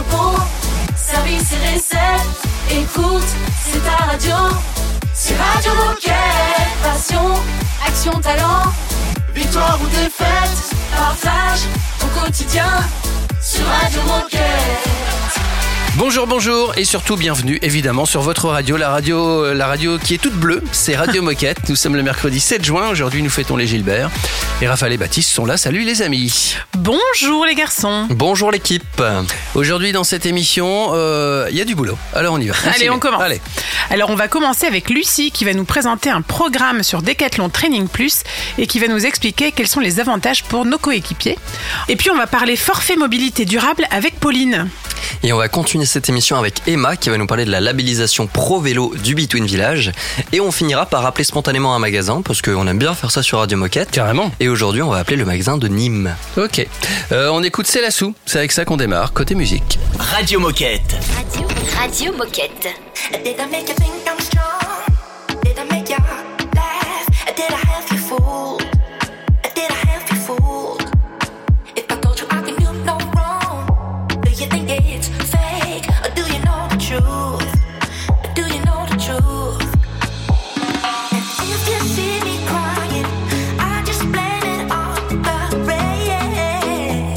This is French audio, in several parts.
repos, service et recettes. Écoute, c'est ta radio. C'est Radio Moquette. Passion, action, talent. Victoire ou défaite, partage ton quotidien sur Radio Moquette. Bonjour et surtout bienvenue évidemment sur votre radio, la radio qui est toute bleue, c'est Radio Moquette. Nous sommes le mercredi 7 juin, aujourd'hui nous fêtons les Gilbert et Raphaël et Baptiste sont là, salut les amis. Bonjour les garçons. Bonjour l'équipe. Aujourd'hui dans cette émission, il y a du boulot, alors on y va. Allez on commence. Allez. Alors on va commencer avec Lucie qui va nous présenter un programme sur Decathlon Training Plus et qui va nous expliquer quels sont les avantages pour nos coéquipiers. Et puis on va parler forfait mobilité durable avec Pauline. Et on va continuer cette émission avec Emma qui va nous parler de la labellisation Pro Vélo du Between Village. Et on finira par appeler spontanément un magasin parce qu'on aime bien faire ça sur Radio Moquette. Carrément. Et aujourd'hui, on va appeler le magasin de Nîmes. Ok. On écoute C'est la Sou. C'est avec ça qu'on démarre. Côté musique. Radio Moquette. Radio Moquette. Did I make you think I'm strong? Did I make you laugh? Did I have you fooled? Did I have you fooled? If I told you I can do no wrong, do you think it's fake? Or do you know the truth? Do you know the truth? And if you see me crying, I just blame it on the rain.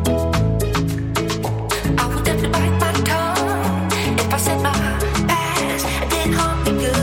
I would definitely bite my tongue if I said my past didn't harm me good.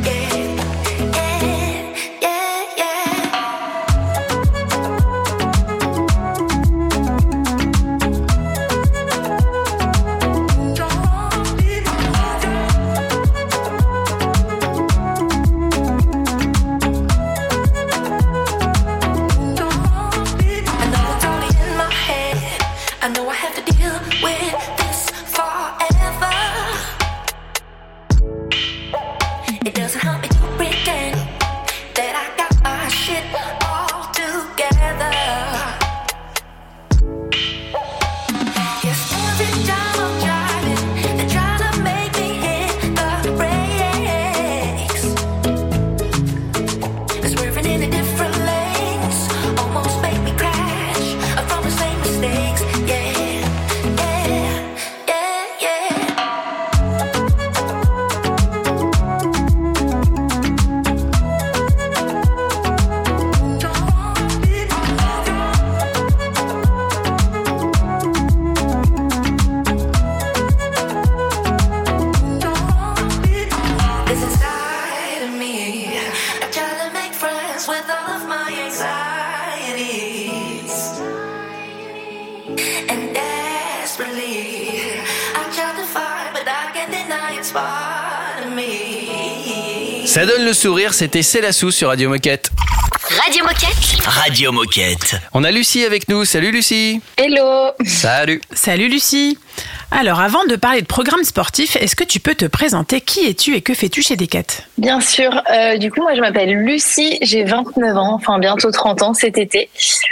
Ça donne le sourire, c'était C'est la Sou sur Radio Moquette. Radio Moquette. Radio Moquette. On a Lucie avec nous. Salut Lucie. Hello. Salut. Salut Lucie. Alors avant de parler de programme sportif, est-ce que tu peux te présenter? Qui es-tu et que fais-tu chez Decat? Bien sûr. Du coup, moi je m'appelle Lucie, j'ai 29 ans, enfin bientôt 30 ans cet été.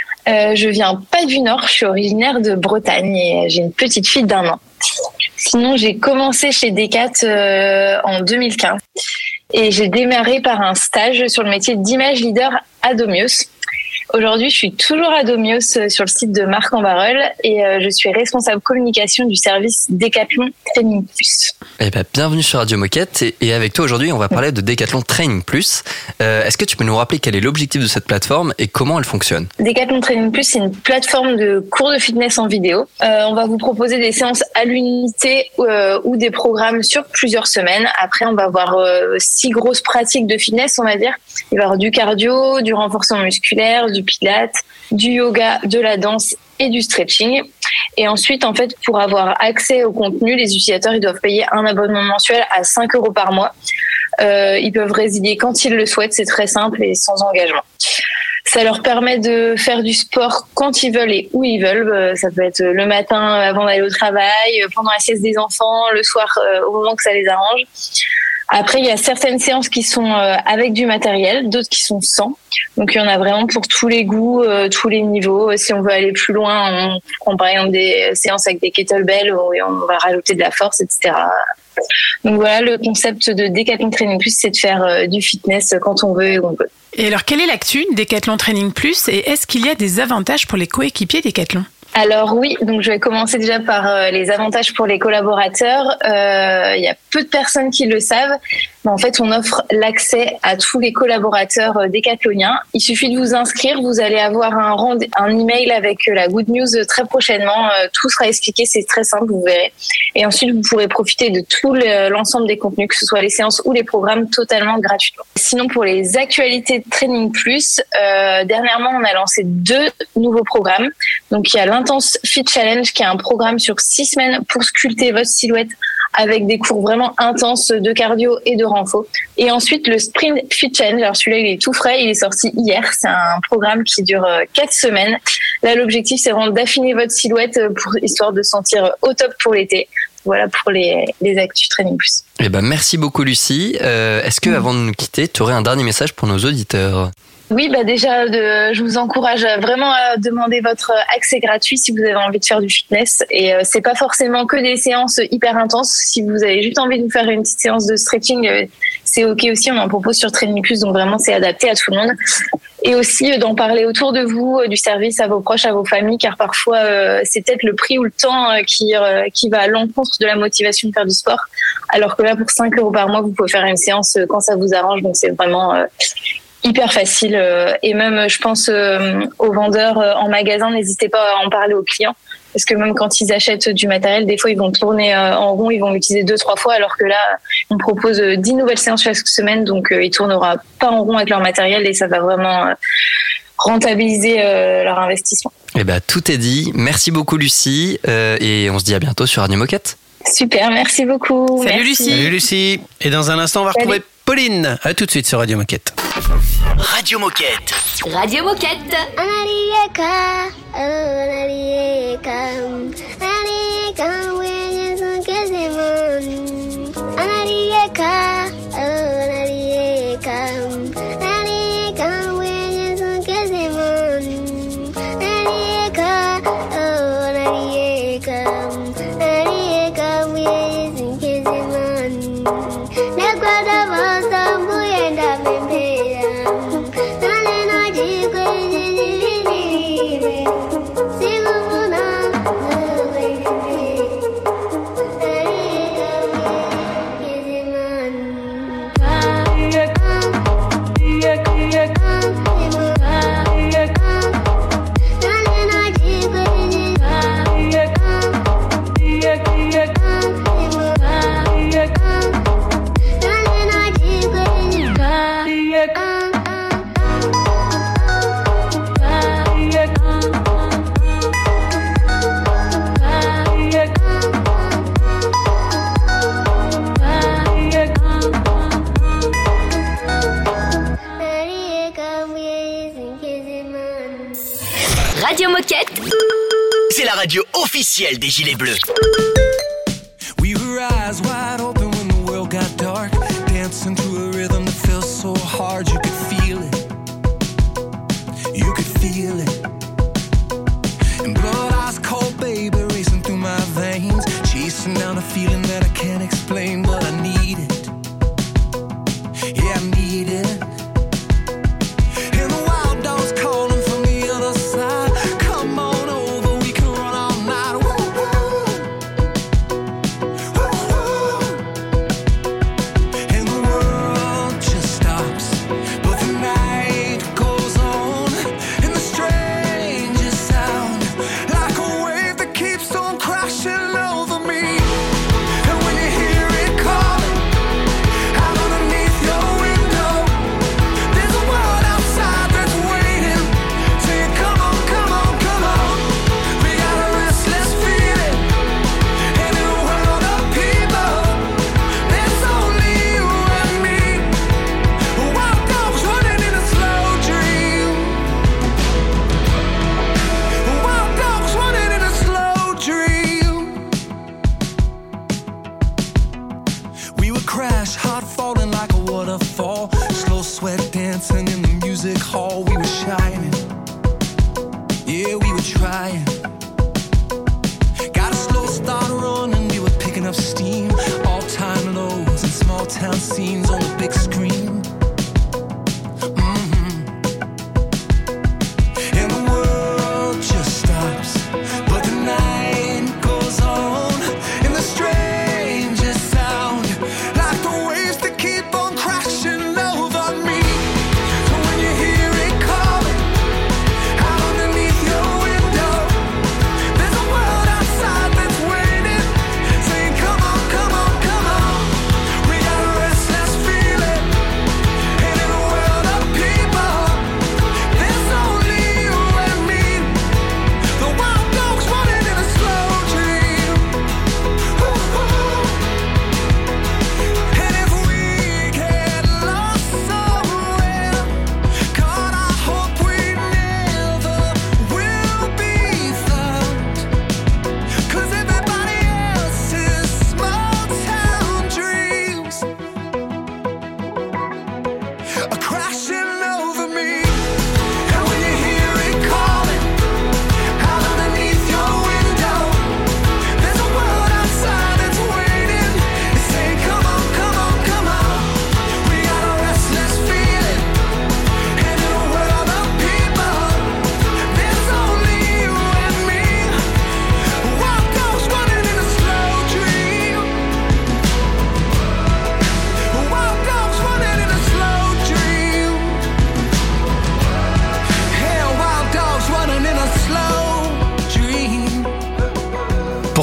Je viens pas du Nord, je suis originaire de Bretagne et j'ai une petite fille d'1 an. Sinon, j'ai commencé chez Decat en 2015 et j'ai démarré par un stage sur le métier d'image leader à Domios. Aujourd'hui, je suis toujours à Domios sur le site de Marc-en-Barœul et je suis responsable communication du service Decathlon Training Plus. Eh ben, bienvenue sur Radio Moquette et avec toi aujourd'hui, on va parler de Decathlon Training Plus. Est-ce que tu peux nous rappeler quel est l'objectif de cette plateforme et comment elle fonctionne? Decathlon Training Plus, c'est une plateforme de cours de fitness en vidéo. On va vous proposer des séances à l'unité ou des programmes sur plusieurs semaines. Après, on va avoir 6 grosses pratiques de fitness, on va dire. Il va y avoir du cardio, du renforcement musculaire, du pilates, du yoga, de la danse et du stretching. Et ensuite, en fait, pour avoir accès au contenu, les utilisateurs ils doivent payer un abonnement mensuel à 5 € par mois. Ils peuvent résilier quand ils le souhaitent, c'est très simple et sans engagement. Ça leur permet de faire du sport quand ils veulent et où ils veulent. Ça peut être le matin avant d'aller au travail, pendant la sieste des enfants, le soir au moment que ça les arrange. Après, il y a certaines séances qui sont avec du matériel, d'autres qui sont sans. Donc, il y en a vraiment pour tous les goûts, tous les niveaux. Si on veut aller plus loin, on prend par exemple des séances avec des kettlebells où on va rajouter de la force, etc. Donc voilà, le concept de Decathlon Training Plus, c'est de faire du fitness quand on veut et où on peut. Et alors, quelle est l'actu Decathlon Training Plus et est-ce qu'il y a des avantages pour les coéquipiers Decathlon ? Alors oui, donc je vais commencer déjà par les avantages pour les collaborateurs. Il y a peu de personnes qui le savent, mais en fait on offre l'accès à tous les collaborateurs décathloniens. Il suffit de vous inscrire, vous allez avoir un email avec la good news très prochainement. Tout sera expliqué, c'est très simple, vous verrez. Et ensuite vous pourrez profiter de tout l'ensemble des contenus, que ce soit les séances ou les programmes, totalement gratuitement. Sinon pour les actualités de Training Plus, dernièrement on a lancé 2 nouveaux programmes. Donc il y a l'Intense Fit Challenge qui est un programme sur 6 semaines pour sculpter votre silhouette avec des cours vraiment intenses de cardio et de renfo. Et ensuite le Sprint Fit Challenge, alors celui-là il est tout frais, il est sorti hier. C'est un programme qui dure 4 semaines. Là l'objectif c'est vraiment d'affiner votre silhouette histoire de sentir au top pour l'été. Voilà pour les actus Training Plus. Eh ben, merci beaucoup Lucie. Est-ce que avant de nous quitter, tu aurais un dernier message pour nos auditeurs ? Oui, déjà, je vous encourage vraiment à demander votre accès gratuit si vous avez envie de faire du fitness. Et c'est pas forcément que des séances hyper intenses. Si vous avez juste envie de vous faire une petite séance de stretching, c'est ok aussi. On en propose sur Training Plus, donc vraiment c'est adapté à tout le monde. Et aussi d'en parler autour de vous, du service à vos proches, à vos familles, car parfois c'est peut-être le prix ou le temps qui va à l'encontre de la motivation de faire du sport. Alors que là, pour 5 € par mois, vous pouvez faire une séance quand ça vous arrange. Donc c'est vraiment hyper facile. Et même, je pense aux vendeurs en magasin, n'hésitez pas à en parler aux clients. Parce que même quand ils achètent du matériel, des fois, ils vont tourner en rond, ils vont l'utiliser 2-3 fois, alors que là, on propose 10 nouvelles séances chaque semaine, donc ils tourneront pas en rond avec leur matériel et ça va vraiment rentabiliser leur investissement. Eh ben, tout est dit. Merci beaucoup, Lucie, et on se dit à bientôt sur Radio Moquette. Super, merci beaucoup. Salut merci. Lucie. Salut Lucie. Et dans un instant, on va retrouver Pauline. À tout de suite sur Radio Moquette. Radio Moquette. Radio Moquette. Radio Moquette. C'est la radio officielle des Gilets Bleus. We were eyes wide open when the world got dark, dancing to a rhythm that felt so hard. You could feel it. You could feel it. And blood ice cold, baby, racing through my veins, chasing down a feeling that I can't explain, but I need it. Yeah, I need it. And the wild dogs calling from the other side. Come on over, we can run all night. Woo-hoo. Woo-hoo. And the world just stops, but the night goes on. And the strangest sound, like a wave that keeps on crashing over me. And when you hear it calling out underneath your window, there's a world outside that's waiting, saying come on, come on, come on. We got a restless feeling, and in a world of people, there's only you and me. Wild dogs running in a slow dream. Wild dogs running in a slow dream. We would crash, hard falling like a waterfall, slow sweat dancing in the music hall. We were shining, yeah, we were trying. Got a slow start running, we were picking up steam. All-time lows and small town scenes on the big screen. And the world just stops,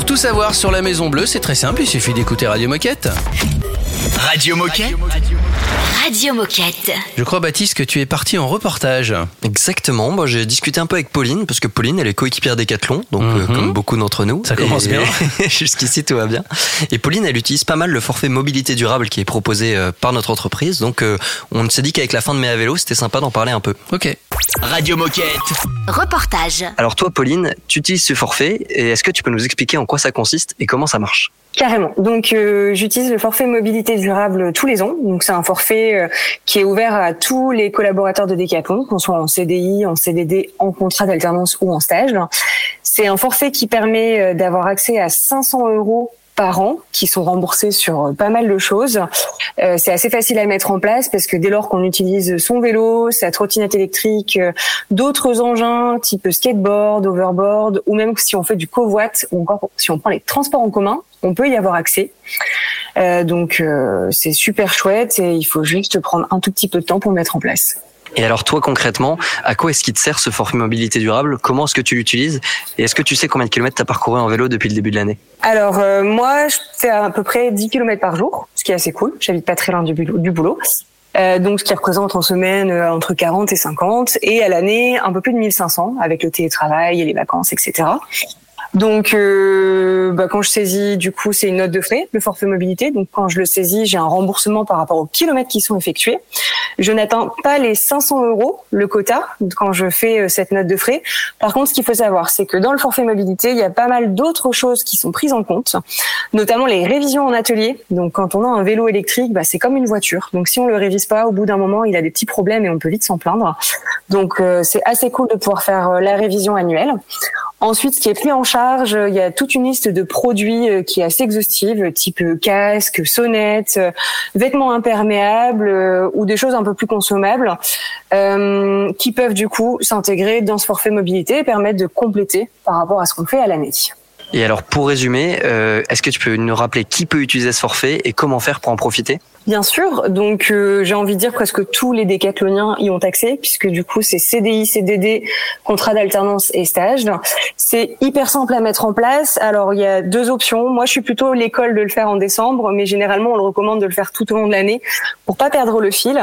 tout savoir sur la Maison Bleue, c'est très simple, il suffit d'écouter Radio Moquette. Radio Moquette. Radio Moquette. Je crois, Baptiste, que tu es parti en reportage. Exactement, moi j'ai discuté un peu avec Pauline, parce que Pauline elle est coéquipière Decathlon, donc comme beaucoup d'entre nous. Ça commence bien. Jusqu'ici tout va bien. Et Pauline elle utilise pas mal le forfait mobilité durable qui est proposé par notre entreprise, donc on s'est dit qu'avec la fin de Mai à vélo, c'était sympa d'en parler un peu. Ok. Radio Moquette. Reportage. Alors toi Pauline, tu utilises ce forfait, et est-ce que tu peux nous expliquer en quoi ça consiste et comment ça marche ? Carrément. Donc j'utilise le forfait mobilité durable tous les ans. Donc c'est un forfait qui est ouvert à tous les collaborateurs de Decathlon, qu'on soit en CDI, en CDD, en contrat d'alternance ou en stage. C'est un forfait qui permet d'avoir accès à 500 € par an qui sont remboursés sur pas mal de choses. C'est assez facile à mettre en place parce que dès lors qu'on utilise son vélo, sa trottinette électrique, d'autres engins type skateboard, overboard, ou même si on fait du covoit ou encore si on prend les transports en commun, on peut y avoir accès. Donc c'est super chouette et il faut juste prendre un tout petit peu de temps pour le mettre en place. Et alors toi concrètement, à quoi est-ce qu'il te sert ce forfait mobilité durable ? Comment est-ce que tu l'utilises ? Et est-ce que tu sais combien de kilomètres tu as parcouru en vélo depuis le début de l'année ? Alors moi, je fais à peu près 10 km par jour, ce qui est assez cool. J'habite pas très loin du boulot. Donc ce qui représente en semaine entre 40 et 50 et à l'année un peu plus de 1500 avec le télétravail et les vacances, etc. Donc, quand je saisis, du coup, c'est une note de frais, le forfait mobilité. Donc, quand je le saisis, j'ai un remboursement par rapport aux kilomètres qui sont effectués. Je n'atteins pas les 500 € le quota quand je fais cette note de frais. Par contre, ce qu'il faut savoir, c'est que dans le forfait mobilité, il y a pas mal d'autres choses qui sont prises en compte, notamment les révisions en atelier. Donc, quand on a un vélo électrique, c'est comme une voiture. Donc, si on le révise pas, au bout d'un moment, il a des petits problèmes et on peut vite s'en plaindre. Donc, c'est assez cool de pouvoir faire la révision annuelle. Ensuite, ce qui est pris en charge, il y a toute une liste de produits qui est assez exhaustive, type casque, sonnette, vêtements imperméables ou des choses un peu plus consommables qui peuvent du coup s'intégrer dans ce forfait mobilité et permettre de compléter par rapport à ce qu'on fait à l'année. Et alors pour résumer, est-ce que tu peux nous rappeler qui peut utiliser ce forfait et comment faire pour en profiter ? Bien sûr, donc j'ai envie de dire presque tous les décathloniens y ont accès puisque du coup c'est CDI, CDD, contrat d'alternance et stage. C'est hyper simple à mettre en place. Alors il y a deux options. Moi je suis plutôt l'école de le faire en décembre, mais généralement on le recommande de le faire tout au long de l'année pour pas perdre le fil.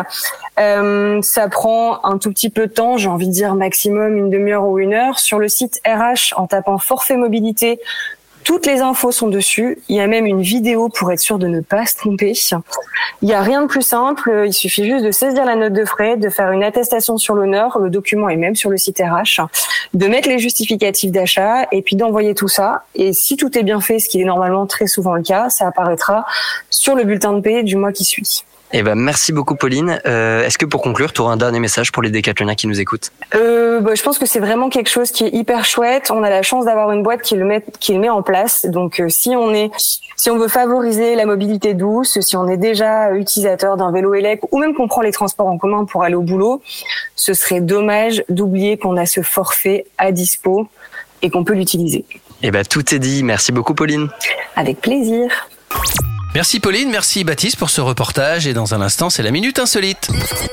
Ça prend un tout petit peu de temps, j'ai envie de dire maximum une demi-heure ou une heure. Sur le site RH, en tapant forfait mobilité, toutes les infos sont dessus. Il y a même une vidéo pour être sûr de ne pas se tromper. Il n'y a rien de plus simple. Il suffit juste de saisir la note de frais, de faire une attestation sur l'honneur. Le document est même sur le site RH. De mettre les justificatifs d'achat et puis d'envoyer tout ça. Et si tout est bien fait, ce qui est normalement très souvent le cas, ça apparaîtra sur le bulletin de paie du mois qui suit. Eh ben, merci beaucoup Pauline. Est-ce que pour conclure, tu auras un dernier message pour les décathloniens qui nous écoutent ? Je pense que c'est vraiment quelque chose qui est hyper chouette. On a la chance d'avoir une boîte qui le met en place. Donc si on veut favoriser la mobilité douce, si on est déjà utilisateur d'un vélo électrique ou même qu'on prend les transports en commun pour aller au boulot, ce serait dommage d'oublier qu'on a ce forfait à dispo et qu'on peut l'utiliser. Eh ben, tout est dit. Merci beaucoup Pauline. Avec plaisir. Merci Pauline, merci Baptiste pour ce reportage et dans un instant c'est la Minute Insolite.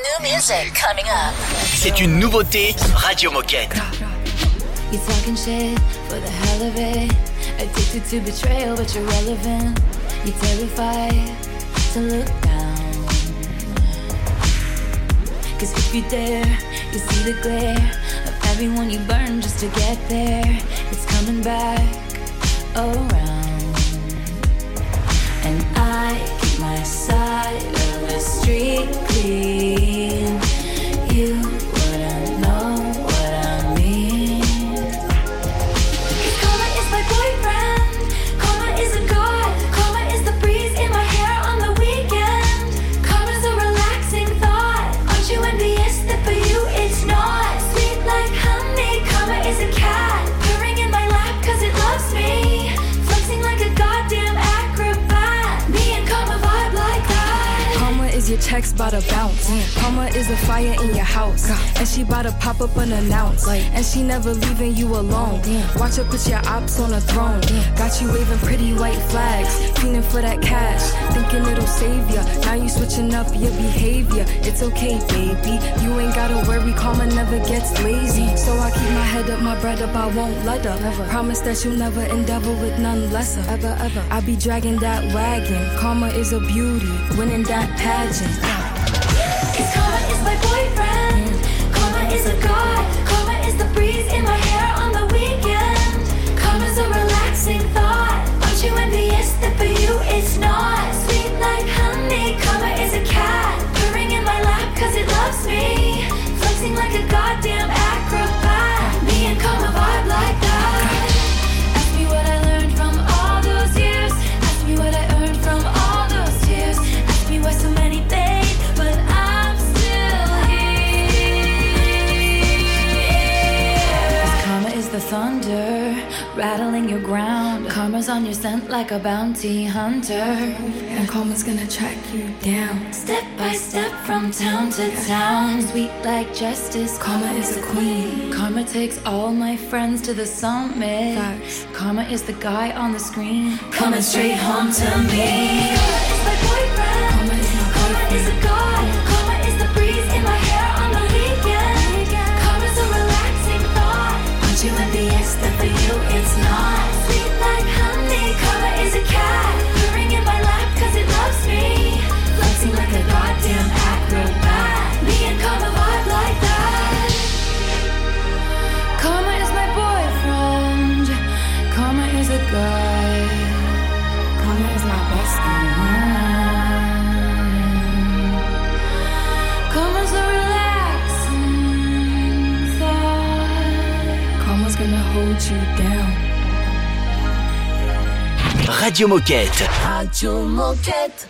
C'est une nouveauté Radio Moquette. You talking shit for the hell of it. Addicted to betrayal, but you're relevant. You're terrified to look down. Cause if you dare, you see the glare of everyone you burn just to get there. It's coming back around. And I keep my side of the street clean. You wouldn't know what I mean. 'Cause karma is my boyfriend. Karma is a god. Karma is the breeze in my hair on the weekend. Karma's a relaxing thought. Aren't you envious that for you it's not? Sweet like honey. Karma is a cat. Purring in my lap 'cause it loves me. Flexing like a goddamn acrobat. Me and karma vibe like that. Karma is your checks bout to bounce. Karma is a fire in your house. And she bout to pop up unannounced. And she never leaving you alone. Watch her put your ops on a throne. Got you waving pretty white flags. Feeling for that cash. Thinking it'll save ya. Now you switching up your behavior. It's okay, baby. You ain't gotta worry. Karma Karma never gets lazy, so I keep my head up, my bread up, I won't let up. Never. Promise that you'll never endeavor with none lesser. Ever, ever. I be dragging that wagon. Karma is a beauty, winning that pageant. Cause karma is my boyfriend. Karma is a god. Karma is the breeze in my hair on the weekend. Karma's a relaxing thought. Aren't you envious that for you it's not? Sweet like honey. Karma is a cat purring in my lap cause it loves me. Flexing like a goddamn acrobat. Me and karma vibe like that. Ask me what I learned from all those years. Ask me what I earned from all those tears. Ask me why so many paid, but I'm still here. 'Cause karma is the thunder rattling your ground. Karma's on your scent like a bounty hunter. And karma's gonna track you down. Step by step from town to town. Sweet like justice. Karma is a queen. Karma takes all my friends to the summit. Facts. Karma is the guy on the screen coming straight home to me. Karma is my boyfriend. Karma is my Karma is a god. Karma is the breeze in my hair on the weekend. Karma's a relaxing thought. Aren't you envious that for you it's not? Sweet like honey. Karma is a cat purring in my lap cause it loves me. Flexing like a goddamn acrobat. Me and karma vibe like that. Karma is my boyfriend. Karma is a guy. Karma is my bestie. Karma's a relaxing thought. Karma's gonna hold you down. Radio Moquette. Radio Moquette.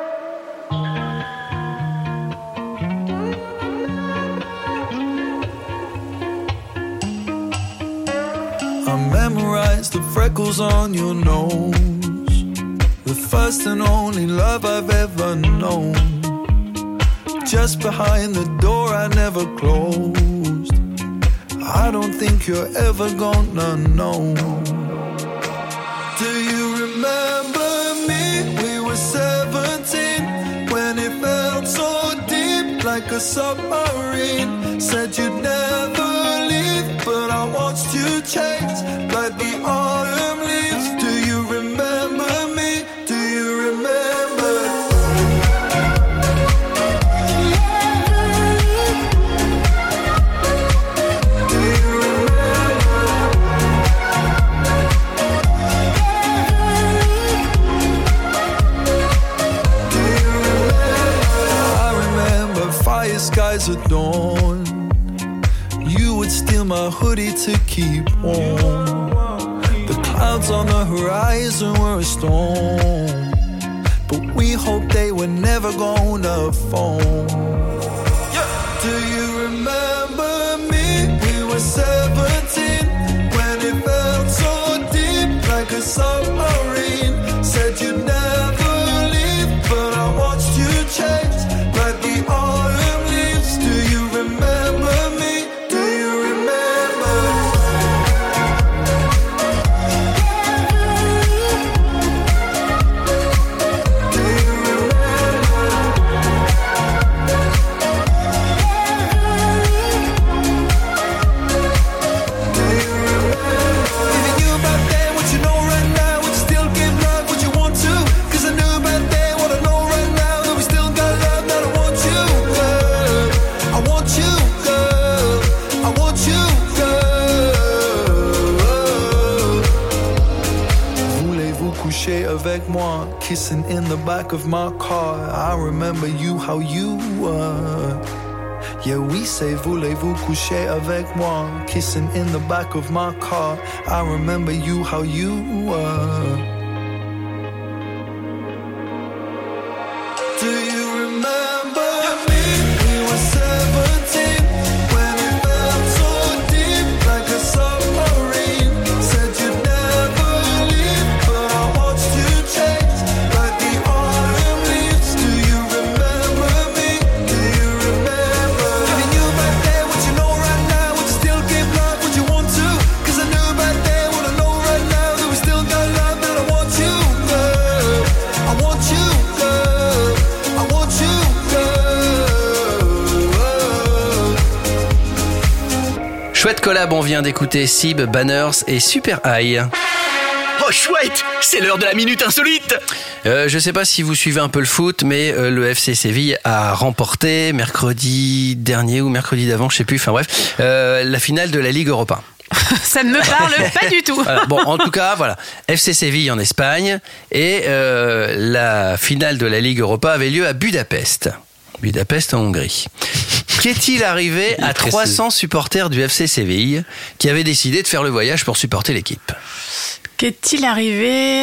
I memorized the freckles on your nose, the first and only love I've ever known. Just behind the door I never closed. I don't think you're ever gonna know. Do you remember me? We were 17 when it felt so deep, like a submarine. Said you'd never leave, but I watched you change like the autumn leaves. Do you remember me? Do you remember? Do you fire skies at dawn. You would steal my hoodie to keep warm. The clouds on the horizon were a storm, but we hoped they were never gonna fall. Do you remember me? We were 17 when it felt so deep, like a submarine. Said you'd never leave, but I watched you change like the autumn leaves. Do you remember me? Do you remember? Do you Even you back then, what you know right now, would you still give love? Would you want to? 'Cause I knew back then what I know right now, that we still got love, that I want you, girl. I want you, girl. I want you, girl. Voulez-vous coucher avec moi? Kissing in the back of my car. I remember you, how you were. Yeah, we say voulez-vous coucher avec moi? Kissing in the back of my car. I remember you, how you were. Do you remember me? We were 17 when it felt so deep, like a submarine. Said you'd never leave, but I watched you change like the autumn leaves. Do you remember me? Do you remember? Even you back then, what you know right now, would you still give love? Would you want to? 'Cause I knew back then what I know right now, that we still got love, that I want. Chouette collab, on vient d'écouter Sib, Banners et Super High. Oh chouette, c'est l'heure de la minute insolite. Je sais pas si vous suivez un peu le foot, mais le FC Séville a remporté mercredi dernier ou mercredi d'avant, je sais plus, enfin bref, la finale de la Ligue Europa. Ça ne me parle pas du tout. Voilà. Bon, en tout cas, voilà. FC Séville en Espagne et la finale de la Ligue Europa avait lieu à Budapest. Budapest en Hongrie. Qu'est-il arrivé à 300 supporters du FC Séville qui avaient décidé de faire le voyage pour supporter l'équipe? Qu'est-il arrivé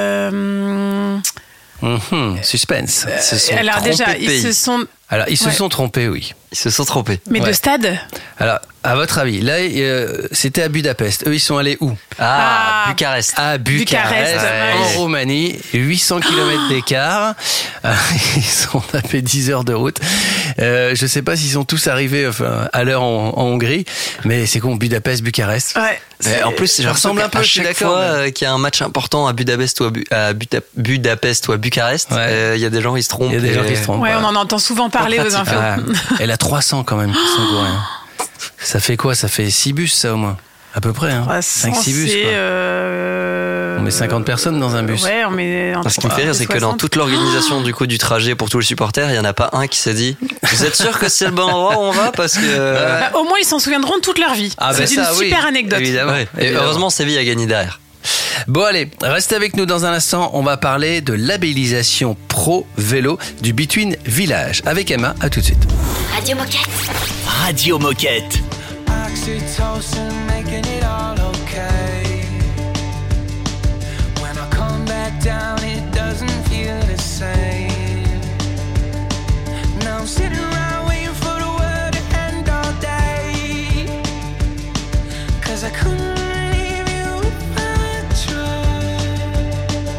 Suspense. Alors déjà, ils se sont trompés, oui. Ils se sont trompés. Mais de stade? Alors, à votre avis, là, c'était à Budapest. Eux, ils sont allés où? Bucarest. À Bucarest, en Roumanie. 800 km d'écart. Ils ont tapé 10 heures de route. Je sais pas s'ils sont tous arrivés à l'heure en Hongrie, mais c'est con, Budapest, Bucarest. Ouais. En plus, ça ressemble un peu. À chaque fois qu'il y a un match important à Budapest ou à Budapest ou à Bucarest, il y a des gens qui se trompent. Il y a des gens qui se trompent. Ouais, on en entend souvent parler aux infos. Elle a 300 quand même qui sont gourés. Ça fait quoi? Ça fait 6 bus, ça, au moins? À peu près, hein. 5-6 bus, quoi. On met 50 personnes dans un bus. Ouais, on met... Ce qui me fait rire, c'est que dans toute l'organisation du trajet pour tous les supporters, il n'y en a pas un qui s'est dit « Vous êtes sûr que c'est le bon endroit où on va ?» Parce que... au moins, ils s'en souviendront toute leur vie. C'est une super anecdote. Évidemment. Ouais. Et heureusement, Séville a gagné derrière. Bon allez, restez avec nous dans un instant, on va parler de labellisation pro vélo du Between Village. Avec Emma, à tout de suite. Radio Moquette. Radio Moquette. Oxytocin making it all okay. When I come back down, it doesn't feel the same. Now I'm sitting around waiting for the world to end all day. 'Cause I couldn't leave you if I tried.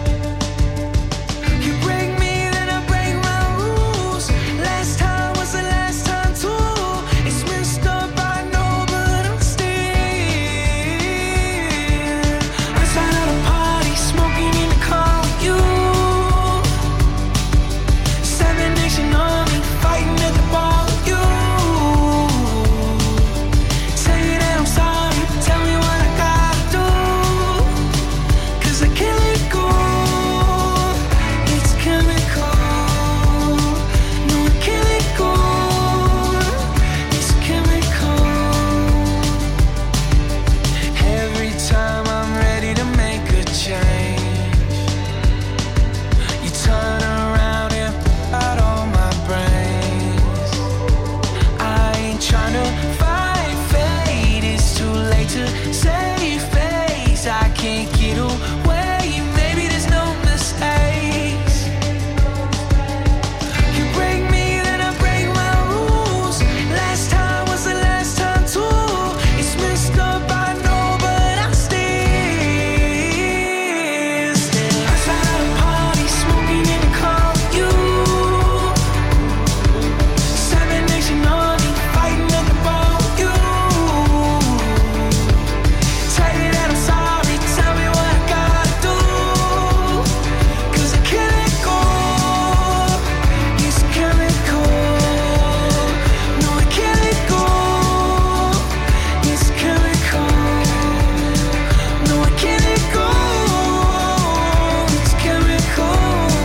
You break me, then I break my rules. Last time was the last time too. It's messed up, I know, but I'm still outside of the party, smoking in the car with you. 7 Nation Army, fighting at the bar with you. Say that I'm sorry, tell me what I gotta do. 'Cause I can't let go. It's chemical. No, I can't let go. It's chemical. Every time I'm ready to make a change, you turn around and out all my brains. I ain't tryna fight fate, it's too late to save face. I can't get away, maybe there's no mistakes. You break me, then I break my rules. Last time was the last time too. It's messed up, I know, but I'm still outside of the party, smoking in the car with you. 7 Nation Army, fighting at the bar with you. Tell you that I'm sorry, tell me what I gotta do. 'Cause I can't let go. It's chemical. No, I can't let go. It's chemical. No, I can't let go. It's chemical.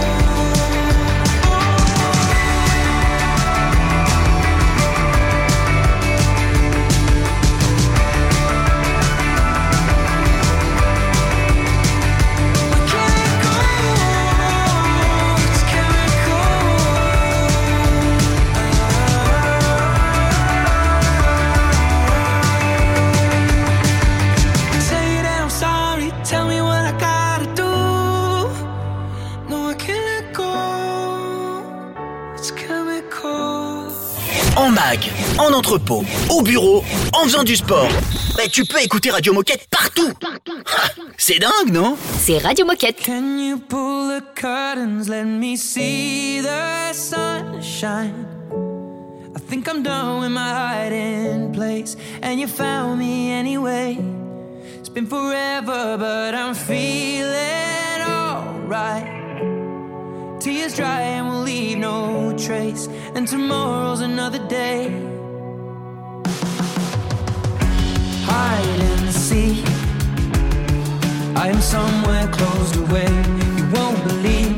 Say that I'm sorry, tell me what I gotta do. No, I can't let go. It's chemical. En mag, en entrepôt, au bureau, en faisant du sport. Tu peux écouter Radio Moquette partout. C'est dingue, non? C'est Radio Moquette. Can you pull the curtains, let me see the sunshine? I think I'm done with my hiding place, and you found me anyway. It's been forever, but I'm feeling alright. Tears dry and we'll leave no trace, and tomorrow's another day. I am somewhere closed away. You won't believe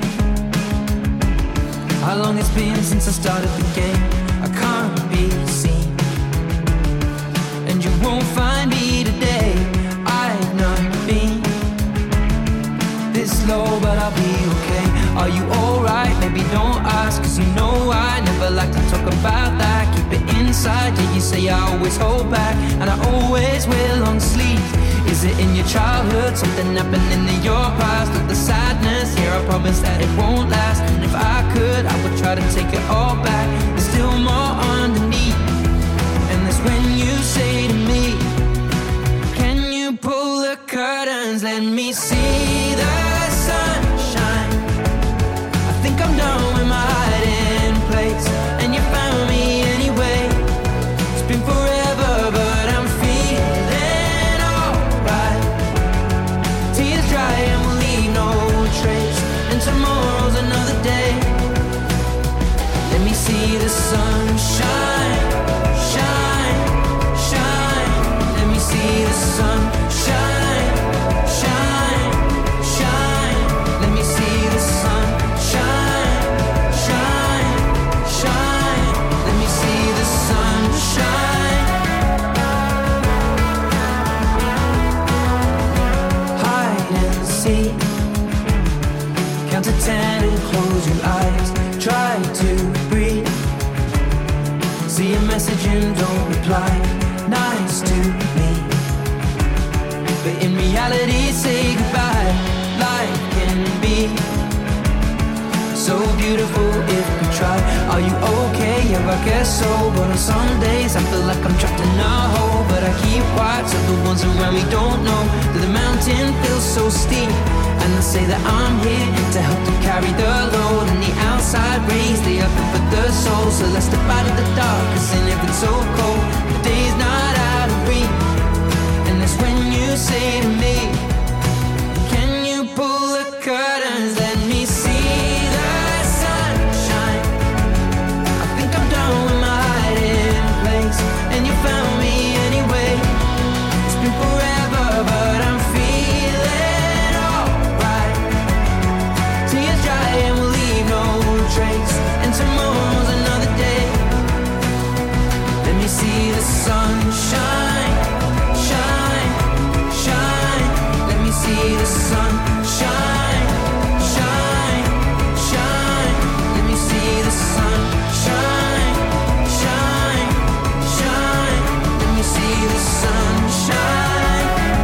how long it's been since I started the game. I can't be seen, and you won't find me today. I've not been this low, but I'll be okay. Are you alright? Maybe don't ask, cause you know I never like to talk about that. Keep it inside, yeah, you say I always hold back, and I always wear long sleeves. Is it in your childhood, something happening in your past? Or the sadness, here I promise that it won't last. And if I could, I would try to take it all back. There's still more underneath, and that's when you say to me, can you pull the curtains, let me see the sunshine? I think I'm done with my hiding place, and you found me anyway. It's been forever, but I'm feeling alright. Tears dry and we'll leave no trace, and tomorrow's another day. Let me see the sunshine, shine, shine. Let me see the sunshine, shine, shine. Let me see the sunshine, shine, shine. Let me see the sunshine. Hide and seek. Count to 10 and close your eyes. Try to breathe. See a message and don't reply. Nice to me, but in reality, say goodbye. Life can be so beautiful if we try. Are you okay? Yeah, I guess so. But on some days I feel like I'm trapped in a hole. But I keep watch of the ones around me don't know that the mountain feels so steep. And they say that I'm here to help them carry the load. And the outside rays, they are good for the soul. So let's step out of the dark, cause in it it's so cold. The day's not out of reach, and that's when you say to me, can you pull the curtains, let me see the sunshine? I think I'm done with my hiding place, and you found me anyway. It's been forever, but I'm feeling alright. Tears dry and we'll leave no trace, and tomorrow's another day. Let me see the sunshine, shine, shine. Let me see the sunshine, shine, shine. Let me see the sunshine, shine, shine. Let me see the sunshine.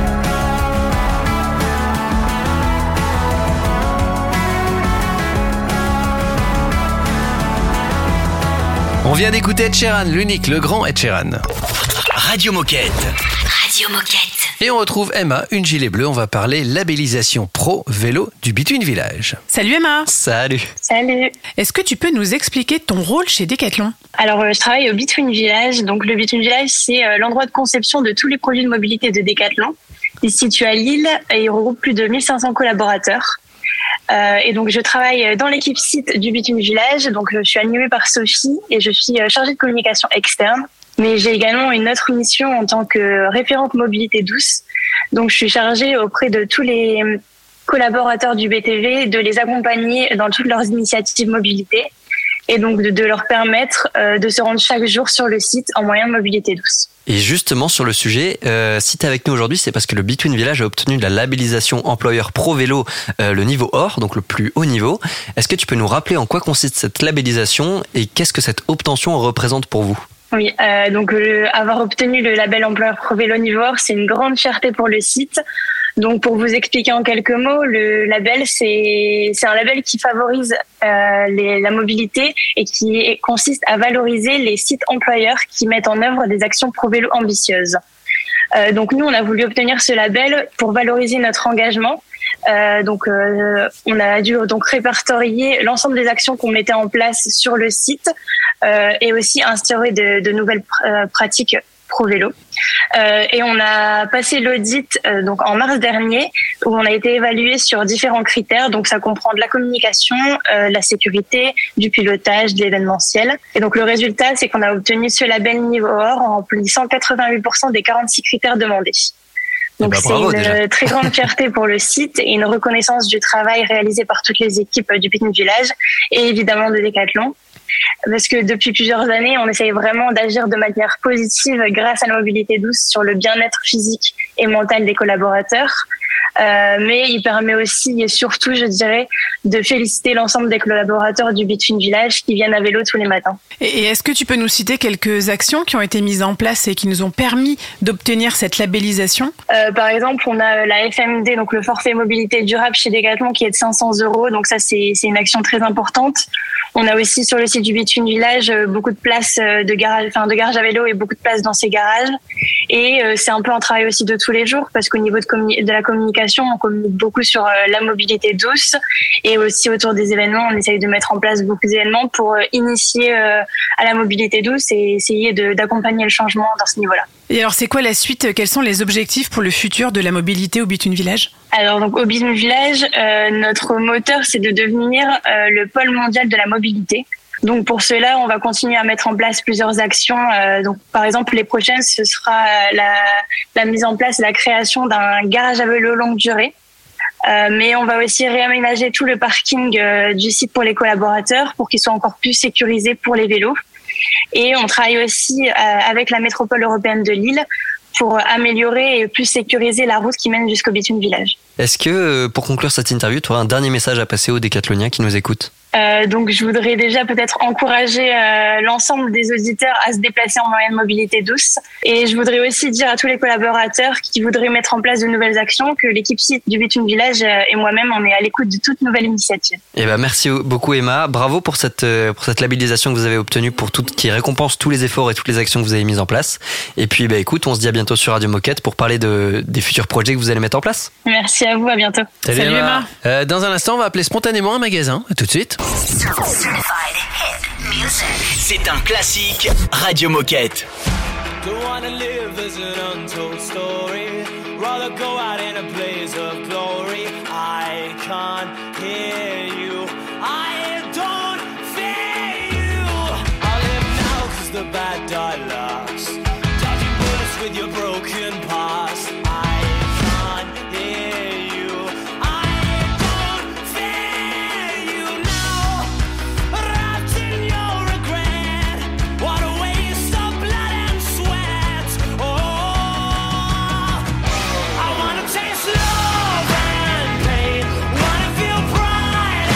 On vient d'écouter Ed Sheeran, l'unique, le grand Ed Sheeran. Radio Moquette. Radio Moquette. Et on retrouve Emma, une gilet bleu. On va parler labellisation pro vélo du Between Village. Salut Emma. Salut. Salut. Est-ce que tu peux nous expliquer ton rôle chez Decathlon? Alors, je travaille au Between Village. Donc, le Between Village, c'est l'endroit de conception de tous les produits de mobilité de Decathlon. Il se situe à Lille et il regroupe plus de 1500 collaborateurs. Et donc, je travaille dans l'équipe site du Between Village. Donc, je suis animée par Sophie et je suis chargée de communication externe. Mais j'ai également une autre mission en tant que référente mobilité douce. Donc, je suis chargée auprès de tous les collaborateurs du BTV de les accompagner dans toutes leurs initiatives mobilité et donc de leur permettre de se rendre chaque jour sur le site en moyen de mobilité douce. Et justement sur le sujet, si tu es avec nous aujourd'hui, c'est parce que le Between Village a obtenu de la labellisation employeur pro vélo, le niveau or, donc le plus haut niveau. Est-ce que tu peux nous rappeler en quoi consiste cette labellisation et qu'est-ce que cette obtention représente pour vous? Oui, donc avoir obtenu le label employeur pro vélo niveau or, c'est une grande fierté pour le site. Donc pour vous expliquer en quelques mots, le label c'est un label qui favorise la mobilité et qui consiste à valoriser les sites employeurs qui mettent en œuvre des actions pro vélo ambitieuses. Donc nous on a voulu obtenir ce label pour valoriser notre engagement. On a dû donc répertorier l'ensemble des actions qu'on mettait en place sur le site et aussi instaurer de nouvelles pratiques pro vélo. Et on a passé l'audit donc en mars dernier où on a été évalué sur différents critères. Donc ça comprend de la communication, la sécurité, du pilotage, de l'événementiel. Et donc le résultat, c'est qu'on a obtenu ce label niveau or en remplissant 88% des 46 critères demandés. Donc bravo, c'est une déjà. très grande fierté pour le site et une reconnaissance du travail réalisé par toutes les équipes du Picnic Village et évidemment de Decathlon. Parce que depuis plusieurs années, on essaye vraiment d'agir de manière positive grâce à la mobilité douce sur le bien-être physique et mental des collaborateurs. Mais il permet aussi et surtout, je dirais, de féliciter l'ensemble des collaborateurs du Between Village qui viennent à vélo tous les matins. Et est-ce que tu peux nous citer quelques actions qui ont été mises en place et qui nous ont permis d'obtenir cette labellisation ? Par exemple, on a la FMD, donc le forfait mobilité durable chez Decathlon, qui est de 500 €. Donc ça, c'est une action très importante. On a aussi sur le site du Between Village beaucoup de places de garage à vélo et beaucoup de places dans ces garages. Et c'est un peu un travail aussi de tous les jours parce qu'au niveau de la communication, on communique beaucoup sur la mobilité douce et aussi autour des événements, on essaye de mettre en place beaucoup d'événements pour initier à la mobilité douce et essayer d'accompagner le changement dans ce niveau-là. Et alors, c'est quoi la suite ? Quels sont les objectifs pour le futur de la mobilité au Between Village ? Alors, donc, au Between Village, notre moteur, c'est de devenir le pôle mondial de la mobilité. Donc, pour cela, on va continuer à mettre en place plusieurs actions. Donc, par exemple, les prochaines, ce sera la mise en place, la création d'un garage à vélo longue durée. Mais on va aussi réaménager tout le parking du site pour les collaborateurs pour qu'il soit encore plus sécurisé pour les vélos. Et on travaille aussi avec la métropole européenne de Lille pour améliorer et plus sécuriser la route qui mène jusqu'au Between Village. Est-ce que, pour conclure cette interview, tu auras un dernier message à passer aux décathloniens qui nous écoutent ? Donc, je voudrais déjà peut-être encourager l'ensemble des auditeurs à se déplacer en moyen de mobilité douce. Et je voudrais aussi dire à tous les collaborateurs qui voudraient mettre en place de nouvelles actions que l'équipe site du Between Village et moi-même, on est à l'écoute de toute nouvelle initiative. Eh ben, merci beaucoup Emma. Bravo pour cette labellisation que vous avez obtenue qui récompense tous les efforts et toutes les actions que vous avez mises en place. Et puis, écoute, on se dit à bientôt sur Radio Moquette pour parler des futurs projets que vous allez mettre en place. Merci à vous, à bientôt. Salut Emma. Dans un instant, on va appeler spontanément un magasin. À tout de suite. C'est un classique Radio Moquette. Don't wanna live as an untold story. Rather go out in a blaze of glory. I can't hear you. I don't fear you. I live now 'cause the bad die last. Dodging bullets with your broken past. I can't hear you. I don't fear you now. Wrapped in your regret. What a waste of blood and sweat. Oh, I wanna taste love and pain. Wanna feel pride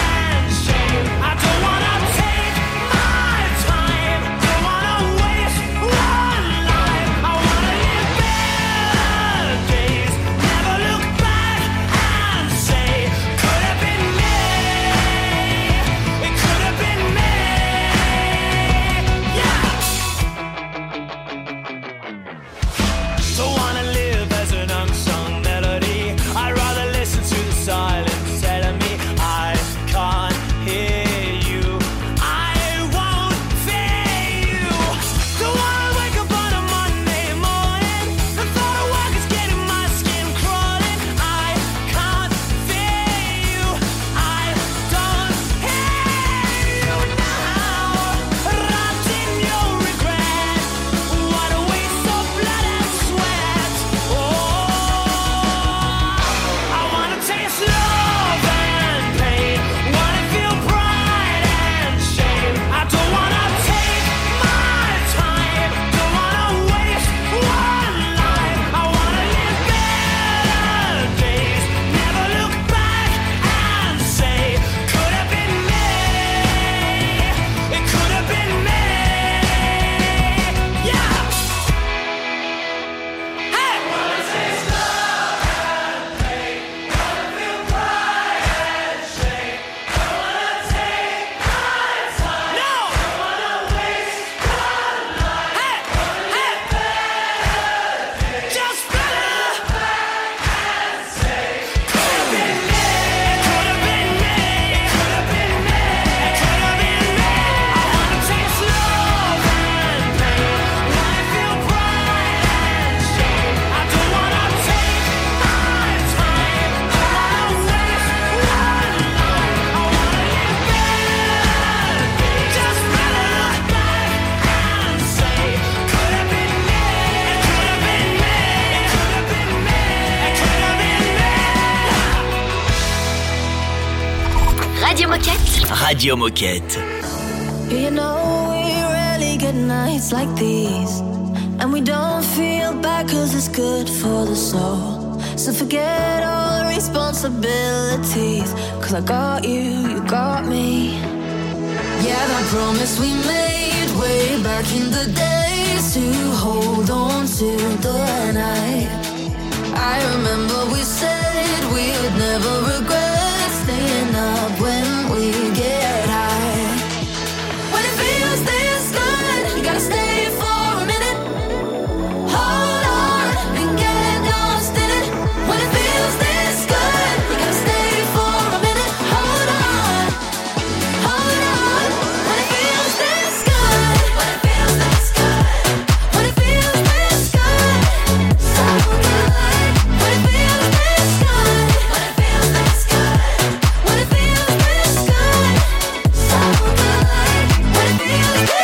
Radio Moquette. You know we rarely get nights like these, and we don't feel bad 'cause it's good for the soul. So forget all responsibilities, 'cause I got you, you got me. Yeah, that promise we made way back in the days to hold on to the night. I remember we said we would never regret staying up when we get high. When it feels this good, you gotta stay for a minute. Hold on and get lost in it. When it feels this good, you gotta stay for a minute. Hold on, hold on. When it feels this good, when it feels this good, when it feels this good, so good. When it feels this good, when it feels this good, when it feels this good, so good. When it feels this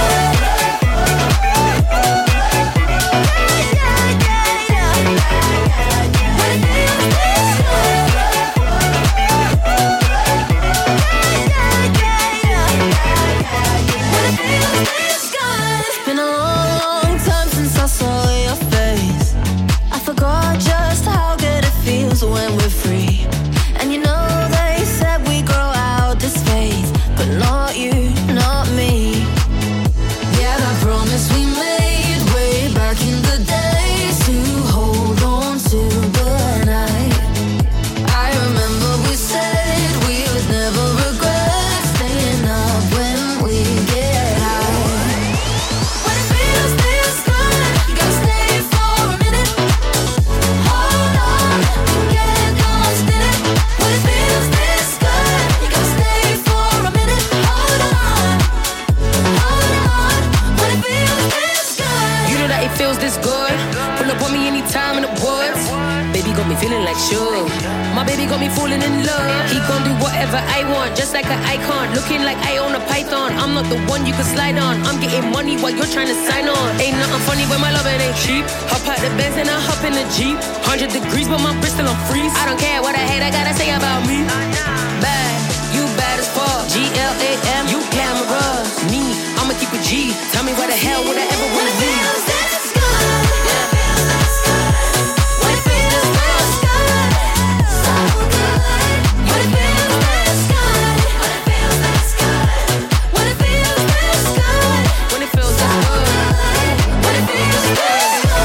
It's been a long, long time since I saw your face. I forgot just how good it feels when we're free. And you know they said we grow out this phase, but not you, not me. Yeah, that promise we made way back in the days to hold on to the night. I remember we said we would never regret staying up when we get high. When it feels this good, you gotta stay for a minute. Hold on and get lost in it. When it feels this good, you gotta stay for a minute. Hold on, hold on. When it feels this good, You know that it feels this good. Pull up on me anytime in the woods. Baby got me feeling like sugar. My baby got me falling in love. He gon' do whatever I want, just like an icon. Looking like I own a python. I'm not the one you can slide on. I'm getting money while you're trying to sign on. Ain't nothing funny when my loving ain't cheap. Hop out the Benz and I hop in the Jeep. 100 degrees, but my wrist still on freeze. I don't care what I hate, I gotta say about me. Bad, you bad as fuck. GLAM, you glamorous. Me, I'ma keep a G. Tell me where the hell would I ever wanna be? feels this good. When it feels this good, when it feels this good, so good. When it feels this good, when it feels this good, when it feels this good, When it feels this good. when it feels this good.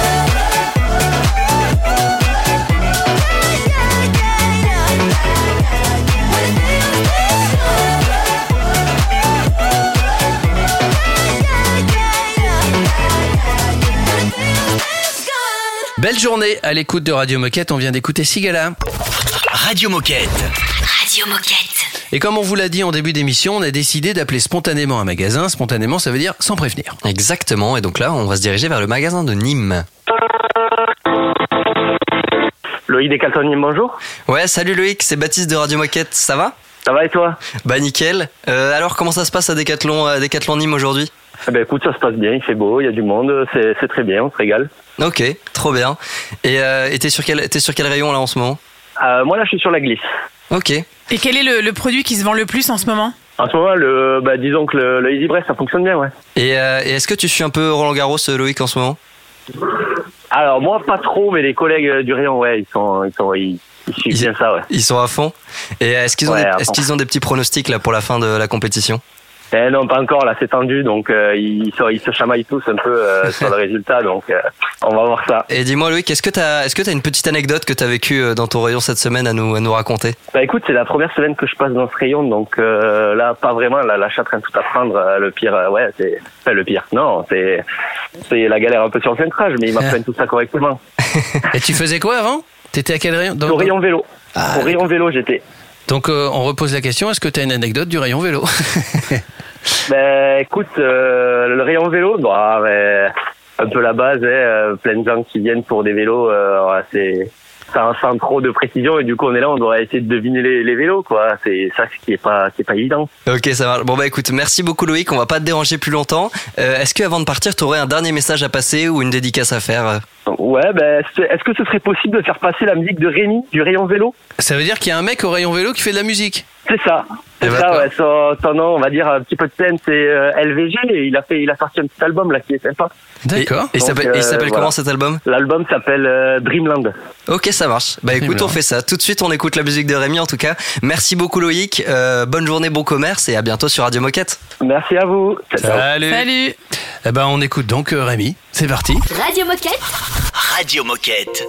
Belle journée à l'écoute de Radio Moquette. On vient d'écouter Sigala. Radio Moquette. Radio Moquette. Et comme on vous l'a dit en début d'émission, on a décidé d'appeler spontanément un magasin. Spontanément, ça veut dire sans prévenir. Exactement, et donc là, on va se diriger vers le magasin de Nîmes. Loïc Decathlon, bonjour. Ouais, salut Loïc, c'est Baptiste de Radio Moquette, ça va ? Ça va et toi? Bah nickel. Alors, comment ça se passe à Decathlon Nîmes aujourd'hui ? Eh ben écoute, ça se passe bien, il fait beau, il y a du monde, c'est très bien, on se régale. Ok, trop bien. Et t'es sur quel rayon là en ce moment ? Moi là, je suis sur la glisse. Ok. Et quel est le produit qui se vend le plus en ce moment ? En ce moment, disons que le Easy Breast, ça fonctionne bien, ouais. Et est-ce que tu suis un peu Roland Garros, Loïc, en ce moment ? Alors moi, pas trop, mais les collègues du rayon, ouais, ils suivent bien ça, ouais. Ils sont à fond. Et est-ce qu'ils ont des petits pronostics là pour la fin de la compétition ? Non, pas encore, là c'est tendu, donc ils se chamaillent tous un peu sur le résultat, donc on va voir ça. Et dis-moi Loïc, est-ce que t'as une petite anecdote que t'as vécue dans ton rayon cette semaine à nous raconter ? Bah écoute, c'est la première semaine que je passe dans ce rayon, donc là pas vraiment, là je suis en train de tout apprendre, le pire, le pire, non, c'est la galère un peu sur le centrage, mais ils m'apprennent tout ça correctement. Et tu faisais quoi avant ? T'étais à quel rayon ? Au rayon vélo. Ah, au rayon vélo j'étais. Donc on repose la question, est-ce que tu as une anecdote du rayon vélo ? Ben écoute, le rayon vélo, un peu la base, plein de gens qui viennent pour des vélos, c'est sans trop de précision, et du coup on est là, on doit essayer de deviner les vélos, quoi. C'est ça qui est pas évident. Ok, ça marche. Bon bah écoute, merci beaucoup Loïc, on va pas te déranger plus longtemps. Est-ce qu'avant de partir, t'aurais un dernier message à passer ou une dédicace à faire ? Ouais, est-ce que ce serait possible de faire passer la musique de Rémi du rayon vélo ? Ça veut dire qu'il y a un mec au rayon vélo qui fait de la musique ? C'est ça. C'est ça, ouais. Son nom, on va dire, un petit peu de scène, c'est LVG. Et il a sorti un petit album là qui est sympa. D'accord. Et il s'appelle comment cet album? L'album s'appelle Dreamland. Ok, ça marche. Bah écoute, on fait ça. Tout de suite, on écoute la musique de Rémi en tout cas. Merci beaucoup Loïc. Bonne journée, bon commerce et à bientôt sur Radio Moquette. Merci à vous. Salut. Salut. Eh ben, on écoute donc Rémi. C'est parti. Radio Moquette. Radio Moquette.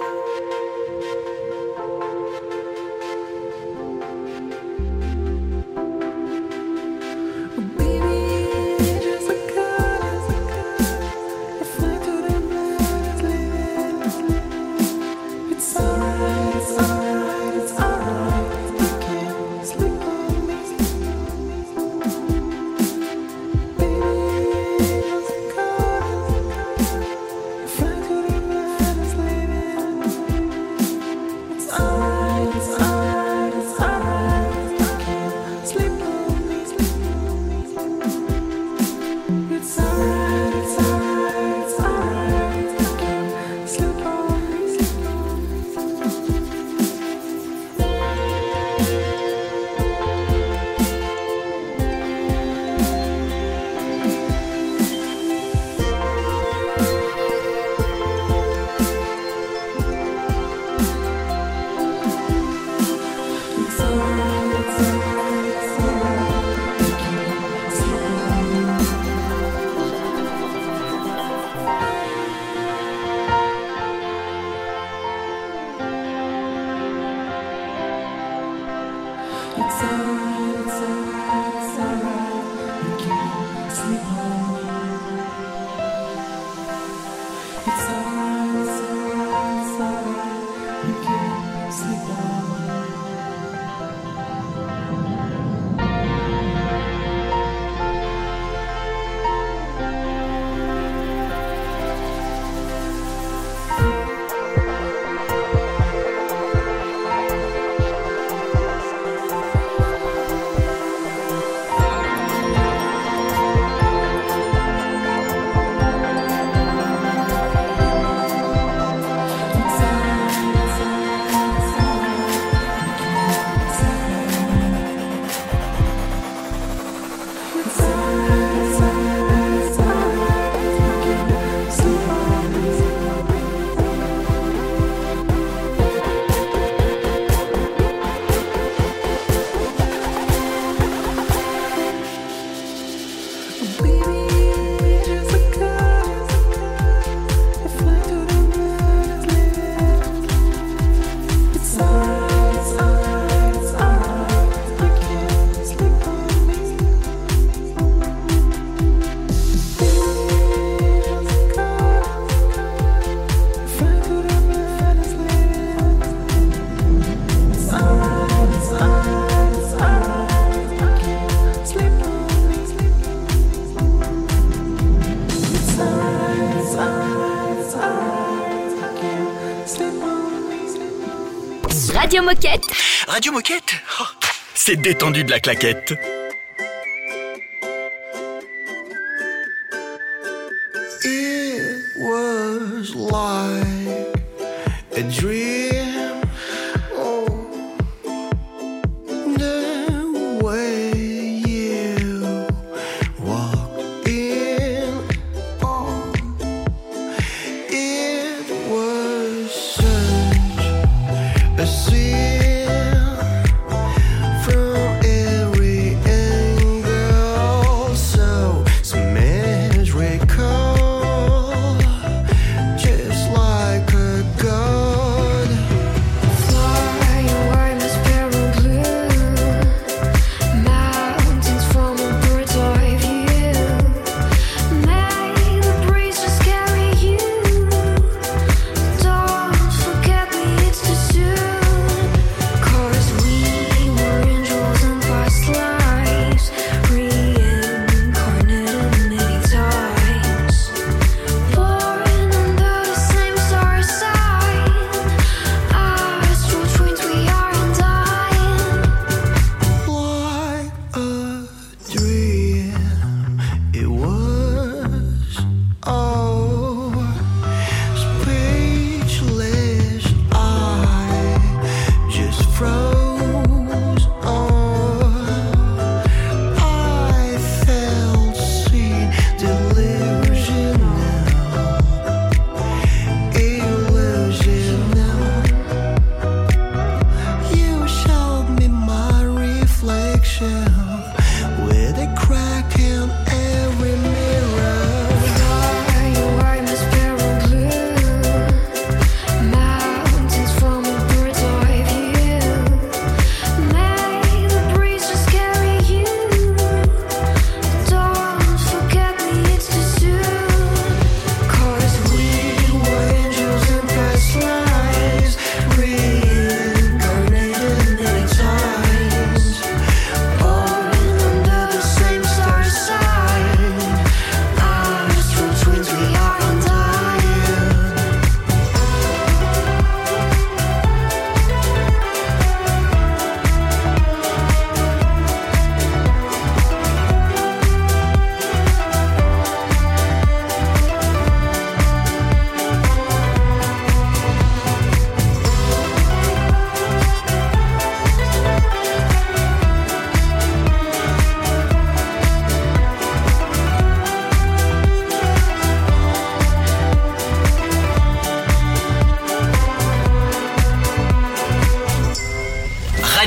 Radio Moquette. Radio Moquette, oh, c'est détendu de la claquette. It was like a dream. Oh, the way you walked in. Oh, it was such a sin from every angle. So magical, just like a god.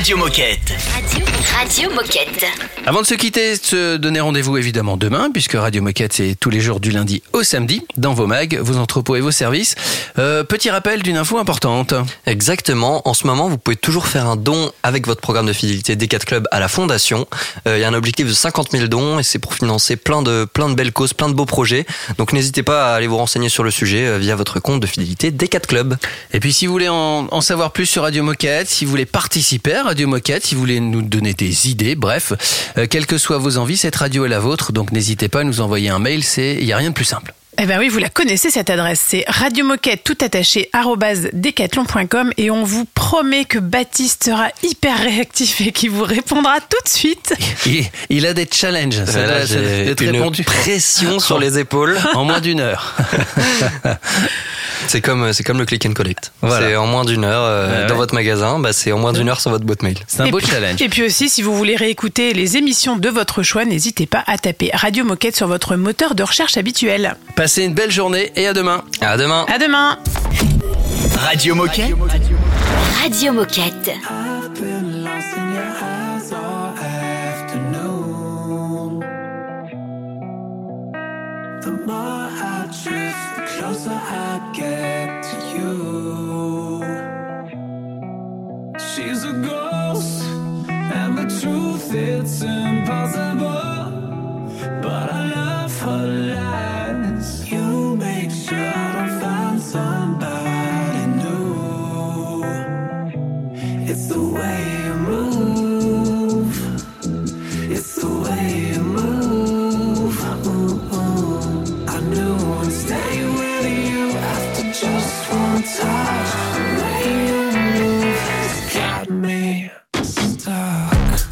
Radio Moquette. Radio Moquette. Avant de se quitter, se donner rendez-vous évidemment demain, puisque Radio Moquette c'est tous les jours du lundi au samedi, dans vos mags, vos entrepôts et vos services. Petit rappel d'une info importante. Exactement, en ce moment vous pouvez toujours faire un don avec votre programme de fidélité D4 Club à la Fondation. Il y a un objectif de 50 000 dons et c'est pour financer plein de belles causes, plein de beaux projets. Donc n'hésitez pas à aller vous renseigner sur le sujet via votre compte de fidélité D4 Club. Et puis si vous voulez en savoir plus sur Radio Moquette, si vous voulez participer à Radio Moquette, si vous voulez nous donner des idées, bref, quelles que soient vos envies, cette radio est la vôtre, donc n'hésitez pas à nous envoyer un mail, il n'y a rien de plus simple. Eh ben oui, vous la connaissez cette adresse, c'est radiomoquette tout attaché @decathlon.com et on vous promet que Baptiste sera hyper réactif et qu'il vous répondra tout de suite. Il a des challenges, ça doit être une répondu. Pression sur les épaules. En moins d'une heure. C'est comme le click and collect. Voilà. C'est en moins d'une heure dans votre magasin, c'est en moins d'une heure sur votre boîte mail. C'est un beau challenge. Et puis aussi, si vous voulez réécouter les émissions de votre choix, n'hésitez pas à taper Radio Moquette sur votre moteur de recherche habituel. Passez une belle journée et à demain. À demain. À demain. Radio Moquette. Radio Moquette. I've been lost in your eyes all afternoon. The more I drift, the closer I get to you. She's a ghost, and the truth, it's impossible. But I love her lies. You make sure I don't find somebody new. It's the way you move. It's the way you move. I knew I'd stay with you after just one touch. The way you move has got me stuck.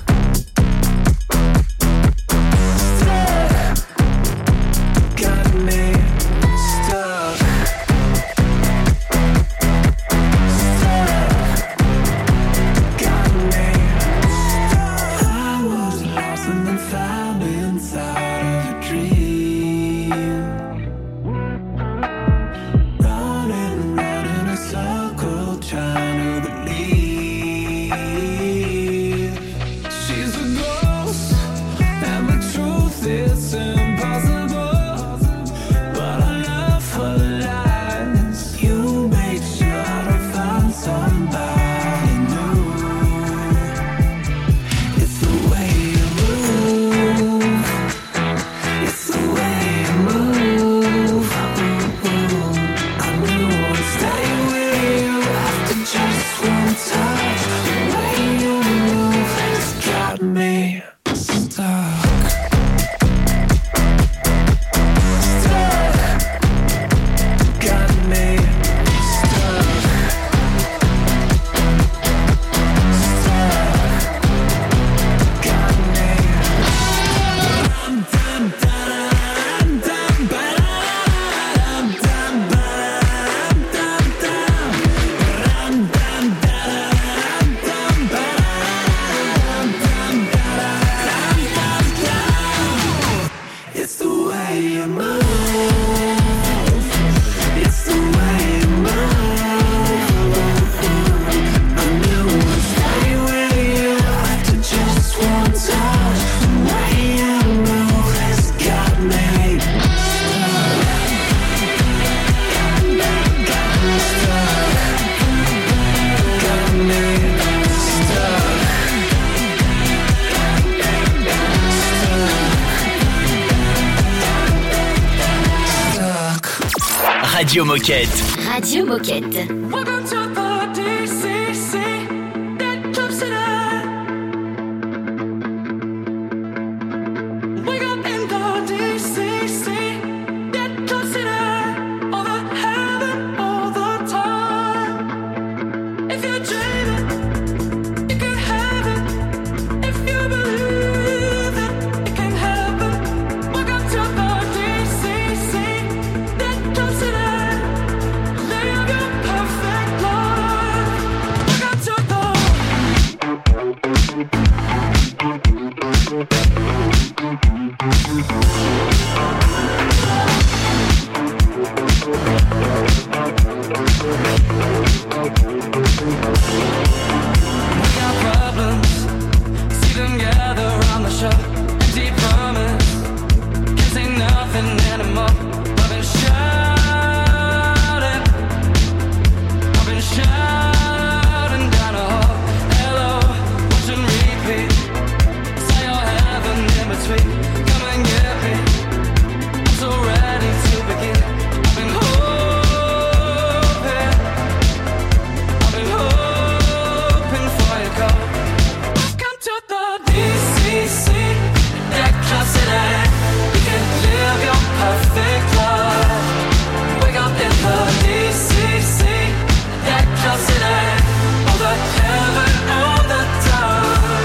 Radio Moquette. Radio Moquette. Welcome to the DCC, that Club City. Wake up in the DCC, that Club City. All the heaven, all the time. If you're dreaming, you can have it. If you believe it, it can happen. Welcome to the DCC, that Club City. Live your perfect life. Welcome to the We got problems. See them gather around the shop. Empty promise. Can't say nothing anymore. I've been shouting. I've been shouting down a hall. Hello, watch and repeat. Say your heaven in between. Come and get me. I'm so ready to begin. I've been hoping. I've been hoping for your call. Welcome to the DCC. That club city. You can live your perfect life. Wake up in the DCC. That club city. All the heaven all the time.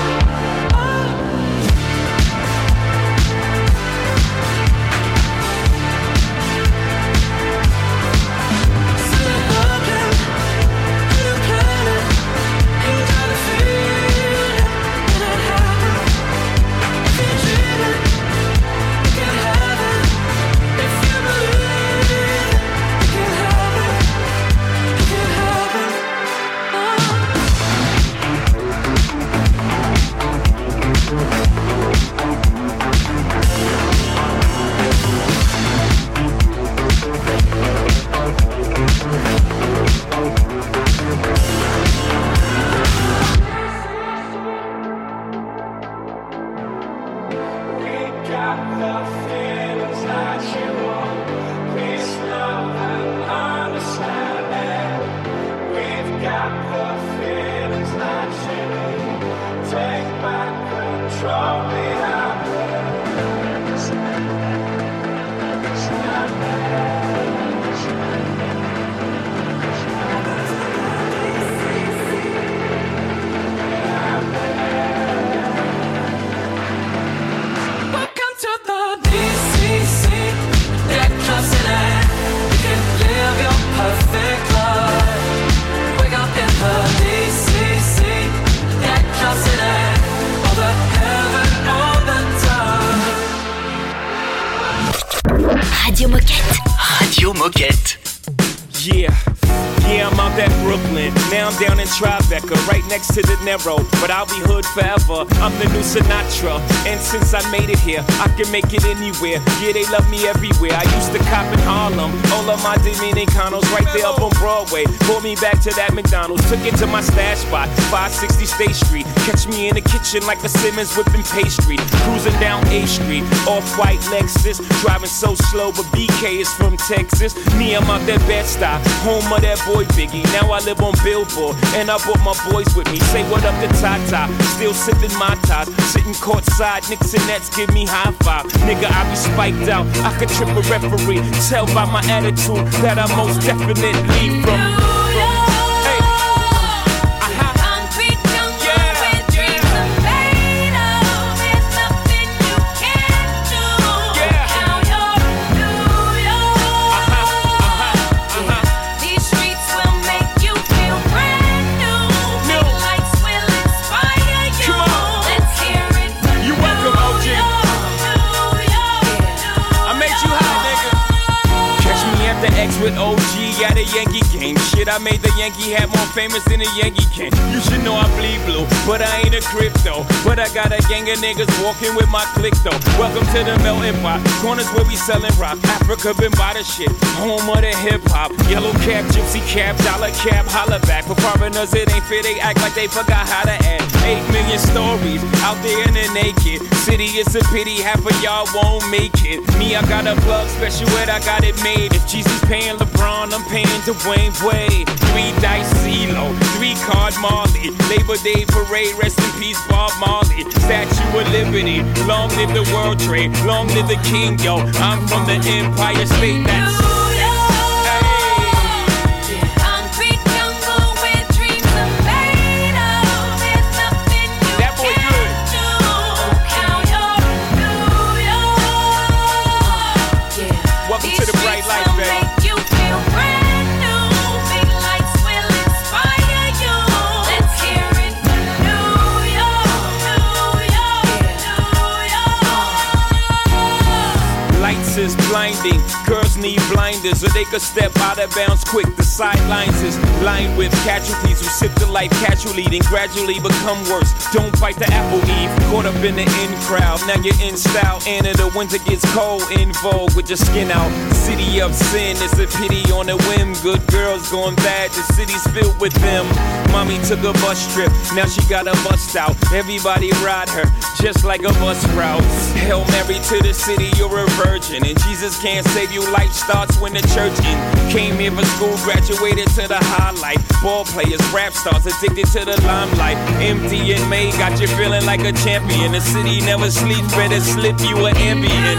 Still looking at a planet. Ain't got a feeling that it happened. If you dream it, you can have it. If you believe it, you can have it. You can have it. Welcome to the DCC. That club city. You can live your perfect life. Wake up in the DCC. That club city. All the heaven all the time. Radio Moquette. Radio Moquette. Yeah, I'm out at Brooklyn. Now I'm down in Tribeca, right next to the Narrow. But I'll be hood forever. I'm the new Sinatra. And since I made it here, I can make it anywhere. Yeah, they love me everywhere. I used to cop in Harlem. All of my Dominicanos right there up on Broadway. Pulled me back to that McDonald's. Took it to my stash spot, 560 State Street. Catch me in the kitchen like a Simmons whipping pastry. Cruising down A Street, off-white Lexus. Driving so slow, but BK is from Texas. Me, I'm out that Bed-Stuy, home of that boy Biggie. Now I live on Billboard, and I brought my boys with me. Say what up to Tata, still sipping my ties. Sitting courtside, Knicks and Nets give me high five. Nigga, I be spiked out, I could trip a referee. Tell by my attitude that I most definitely from. With OG at a Yankee game. Shit, I made the Yankee hat more famous than a Yankee can. You should know I bleed blue, but I ain't a crypto. But I got a gang of niggas walking with my click though. Welcome to the melting pot. Corners where we selling rock. Africa been by the shit. Home of the hip hop. Yellow cap, gypsy cap, dollar cap, holla back. For foreigners, it ain't fair. They act like they forgot how to act. 8 million stories out there in the naked city. It's a pity half of y'all won't make it. Me, I got a plug special ed, I got it made. If Jesus paying LeBron, I'm paying Dwayne Wade. 3 dice CeeLo, 3 card Marley. Labor Day parade, rest in peace Bob Marley. Statue of Liberty, long live the World Trade, long live the King, yo. I'm from the Empire State. That's blinding. Girls need blinding. reminders, or they could step out of bounds quick. The sidelines is lined with casualties who sip the life casually, then gradually become worse. Don't bite the apple, Eve. Caught up in the in crowd, now you're in style. And the winter gets cold, in vogue with your skin out. City of sin, it's a pity on a whim. Good girls going bad, the city's filled with them. Mommy took a bus trip, now she got a bust out. Everybody ride her, just like a bus route. Hail Mary to the city, you're a virgin. And Jesus can't save you, life starts when the church in. Came here for school, graduated to the highlight. Ball players, rap stars, addicted to the limelight. Empty in May, got you feeling like a champion. The city never sleeps, better slip you an Ambien.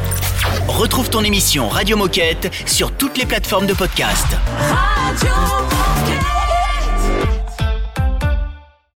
Retrouve ton émission Radio Moquette sur toutes les plateformes de podcast. Radio